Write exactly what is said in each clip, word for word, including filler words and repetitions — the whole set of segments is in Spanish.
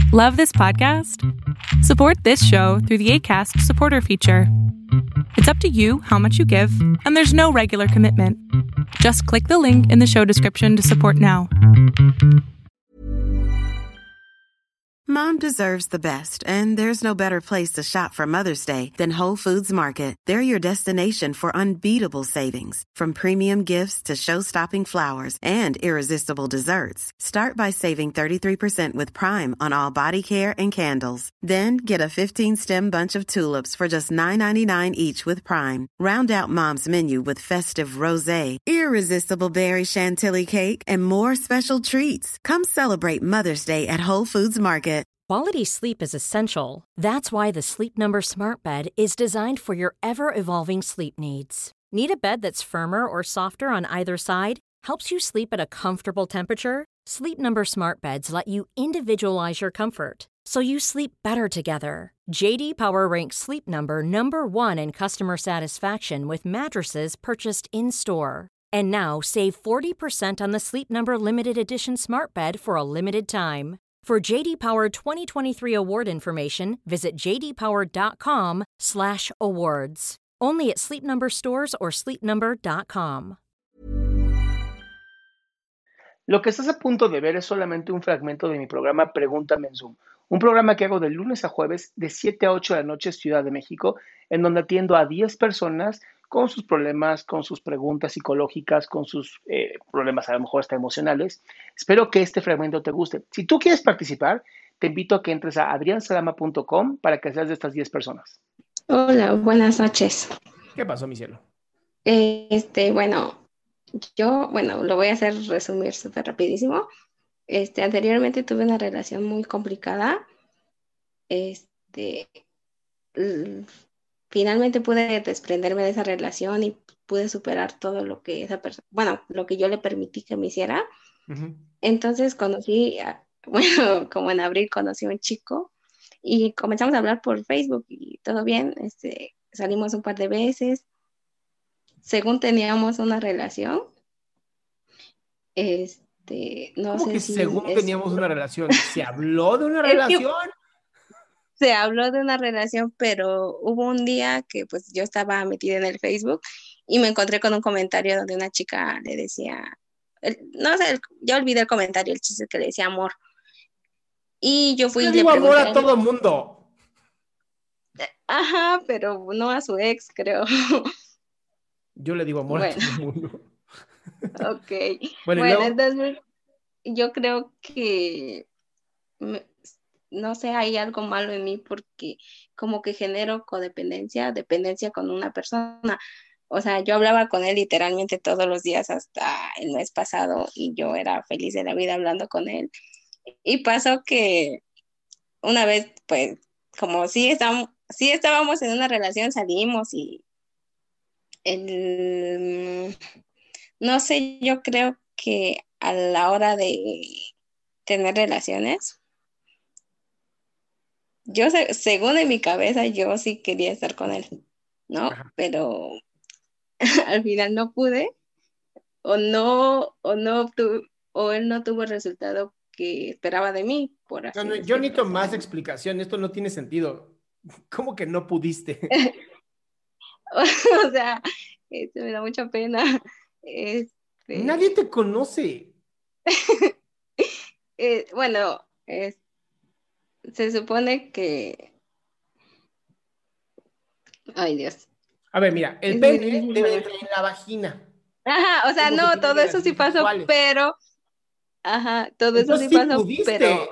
Love this podcast? Support this show through the Acast supporter feature. It's up to you how much you give, and there's no regular commitment. Just click the link in the show description to support now. Mom deserves the best, and there's no better place to shop for Mother's Day than Whole Foods Market. They're your destination for unbeatable savings, from premium gifts to show-stopping flowers and irresistible desserts. Start by saving thirty-three percent with Prime on all body care and candles. Then get a fifteen-stem bunch of tulips for just nine ninety-nine each with Prime. Round out Mom's menu with festive rosé, irresistible berry chantilly cake, and more special treats. Come celebrate Mother's Day at Whole Foods Market. Quality sleep is essential. That's why the Sleep Number Smart Bed is designed for your ever-evolving sleep needs. Need a bed that's firmer or softer on either side? Helps you sleep at a comfortable temperature? Sleep Number Smart Beds let you individualize your comfort, so you sleep better together. J D Power ranks Sleep Number number one in customer satisfaction with mattresses purchased in-store. And now save forty percent on the Sleep Number Limited Edition Smart Bed for a limited time. For J D Power twenty twenty-three award information, visit jdpower.com slash awards. Only at Sleep Number stores or sleep number dot com. Lo que estás a punto de ver es solamente un fragmento de mi programa Pregúntame en Zoom, un programa que hago de lunes a jueves de siete a ocho de la noche Ciudad de México, en donde atiendo a diez personas con sus problemas, con sus preguntas psicológicas, con sus eh, problemas a lo mejor hasta emocionales. Espero que este fragmento te guste. Si tú quieres participar, te invito a que entres a adrian salama punto com para que seas de estas diez personas. Hola, buenas noches. ¿Qué pasó, mi cielo? Eh, Este, bueno, yo, bueno, lo voy a hacer resumir súper rapidísimo. Este, anteriormente tuve una relación muy complicada. Este, l- Finalmente pude desprenderme de esa relación y pude superar todo lo que esa persona, bueno, lo que yo le permití que me hiciera. Uh-huh. Entonces conocí, a- bueno, como en abril conocí a un chico y comenzamos a hablar por Facebook y todo bien. Este, salimos un par de veces, según teníamos una relación. Este, no ¿Cómo sé que si según es- teníamos una relación? ¿Se habló de una Es que- relación? se habló de una relación, pero hubo un día que pues yo estaba metida en el Facebook y me encontré con un comentario donde una chica le decía, el- no sé, el- ya olvidé el comentario, el chiste es que le decía amor. Y yo fui Yo y le digo amor pregunté, a todo mundo. ajá, pero no a su ex, creo. Yo le digo amor a Bueno. todo mundo. Ok. Bueno, y Bueno, luego, entonces yo creo que, me- no sé, hay algo malo en mí porque como que genero codependencia, dependencia con una persona. O sea, yo hablaba con él literalmente todos los días hasta el mes pasado y yo era feliz de la vida hablando con él. Y pasó que una vez, pues, como sí estábamos, sí estábamos en una relación, salimos y el, no sé, yo creo que a la hora de tener relaciones, yo se- según en mi cabeza, yo sí quería estar con él, ¿no? Ajá. Pero al final no pude, o no, o no obtuve, o él no tuvo el resultado que esperaba de mí, por así no, no, yo decirlo. necesito más explicación. Esto no tiene sentido. ¿Cómo que no pudiste? O sea, este, me da mucha pena. Este, Nadie te conoce. eh, bueno, es- se supone que, ay Dios. A ver, mira, el Es pene muy difícil debe saber. entrar en la vagina. Ajá, o sea, ¿Cómo se no, tienen todo eso sí relaciones pasó, sexuales? pero, ajá, todo eso Entonces sí sí pasó, pudiste. pero,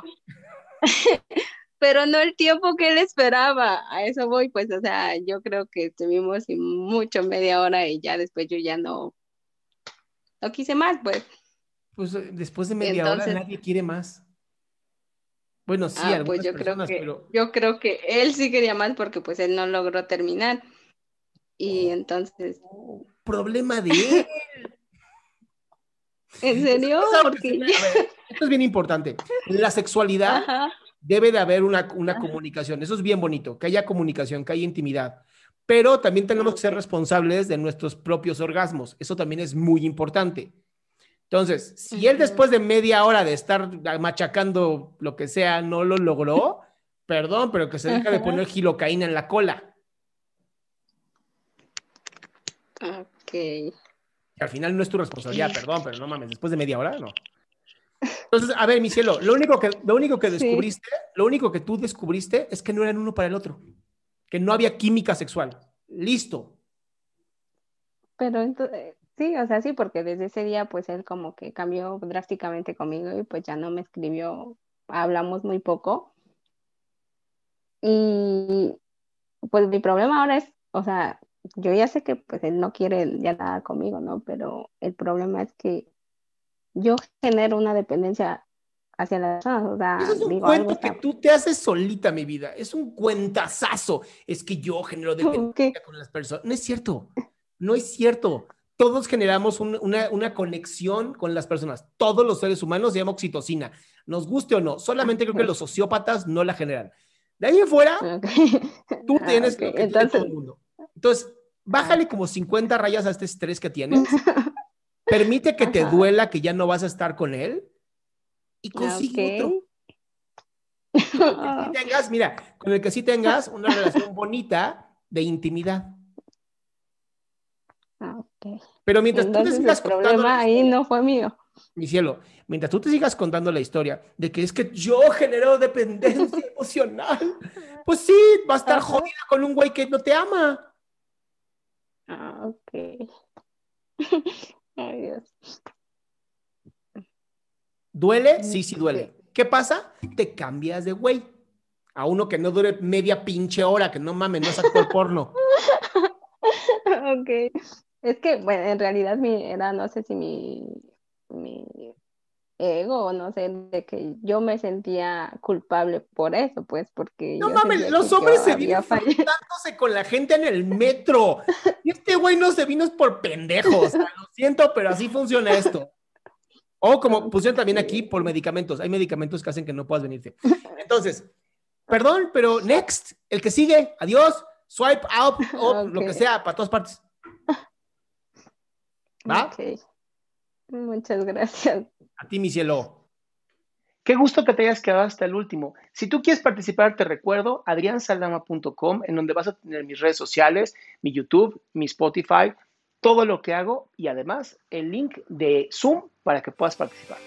pero no el tiempo que él esperaba. A eso voy, pues, o sea, yo creo que estuvimos y mucho media hora y ya después yo ya no, no quise más, pues. Pues eh, después de media hora Entonces, nadie quiere más. Bueno, sí, ah, pues algunas yo creo personas, que, pero yo creo que él sí quería más porque pues él no logró terminar. Y entonces, oh, problema de él. ¿en Eso serio? no es algo que Porque se ve- A ver, esto es bien importante. En la sexualidad ajá, debe de haber una, una ajá, comunicación. Eso es bien bonito, que haya comunicación, que haya intimidad. Pero también tenemos que ser ok. responsables de nuestros propios orgasmos. Eso también es muy importante. Entonces, si él después de media hora de estar machacando lo que sea no lo logró, perdón, pero que se deja de poner gilocaína en la cola. Ok. Y al final no es tu responsabilidad, perdón, pero no mames, después de media hora, no. Entonces, a ver, mi cielo, lo único que, lo único que descubriste, sí. lo único que tú descubriste es que no eran uno para el otro, que no había química sexual. Listo. Pero entonces, sí, o sea, sí, porque desde ese día, pues él como que cambió drásticamente conmigo y pues ya no me escribió, hablamos muy poco. Y pues mi problema ahora es, o sea, yo ya sé que pues él no quiere ya nada conmigo, ¿no? Pero el problema es que yo genero una dependencia hacia las personas, o sea, Eso es un digo, cuento algo que está... tú te haces solita, mi vida. Es un cuentazazo. Es que yo genero dependencia ¿Qué? con las personas. No es cierto. No es cierto. Todos generamos un, una, una conexión con las personas. Todos los seres humanos se llama oxitocina. Nos guste o no. Solamente creo que los sociópatas no la generan. De ahí en fuera, Okay. tú tienes Okay. lo que Entonces... tiene todo el mundo. Entonces, bájale como cincuenta rayas a este estrés que tienes. Permite que te Ajá. duela que ya no vas a estar con él y consigue Okay. otro. Con el que sí tengas, mira, con el que sí tengas una relación bonita de intimidad. Okay. Pero mientras Entonces, tú te sigas el contando problema la ahí historia, no fue mío. mi cielo, mientras tú te sigas contando la historia de que es que yo genero dependencia emocional, pues sí, va a estar Ajá. jodida con un güey que no te ama. Ah, ok. Ay, Dios. ¿Duele? Sí, sí duele. ¿Qué pasa? Te cambias de güey a uno que no dure media pinche hora, que no mames, no es actor porno. Ok. Es que, bueno, en realidad mi, era, no sé si mi, mi ego, o no sé, de que yo me sentía culpable por eso, pues, porque No yo mames, sentía los que yo hombres se había vienen fallado. frotándose con la gente en el metro. Y este güey no se vino por pendejos. Lo siento, pero así funciona esto. O como pusieron también aquí, por medicamentos. Hay medicamentos que hacen que no puedas venirte. Entonces, perdón, pero next, el que sigue, adiós, swipe out, up, Ok. lo que sea, para todas partes. ¿Va? Ok. Muchas gracias. A ti, mi cielo. Qué gusto que te hayas quedado hasta el último. Si tú quieres participar, te recuerdo adrián saldama punto com, en donde vas a tener mis redes sociales, mi YouTube, mi Spotify, todo lo que hago y además el link de Zoom para que puedas participar.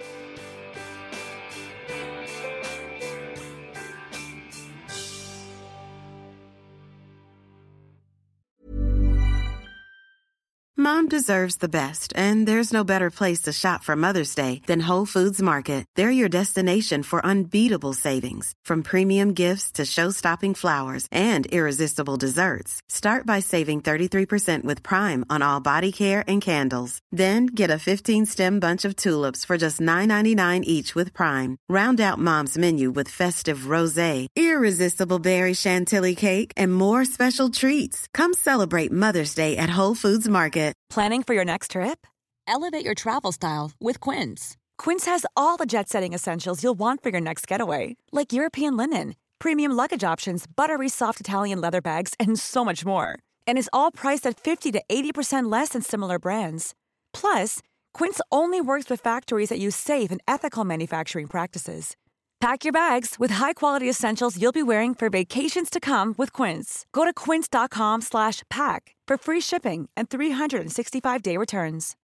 Mom deserves the best, and there's no better place to shop for Mother's Day than Whole Foods Market. They're your destination for unbeatable savings, from premium gifts to show-stopping flowers and irresistible desserts. Start by saving thirty-three percent with Prime on all body care and candles. Then get a fifteen-stem bunch of tulips for just nine ninety-nine each with Prime. Round out Mom's menu with festive rosé, irresistible berry chantilly cake, and more special treats. Come celebrate Mother's Day at Whole Foods Market. Planning for your next trip? Elevate your travel style with Quince. Quince has all the jet-setting essentials you'll want for your next getaway, like European linen, premium luggage options, buttery soft Italian leather bags, and so much more. And is all priced at fifty to eighty percent less than similar brands. Plus, Quince only works with factories that use safe and ethical manufacturing practices. Pack your bags with high-quality essentials you'll be wearing for vacations to come with Quince. Go to quince.com slash pack for free shipping and three sixty-five day returns.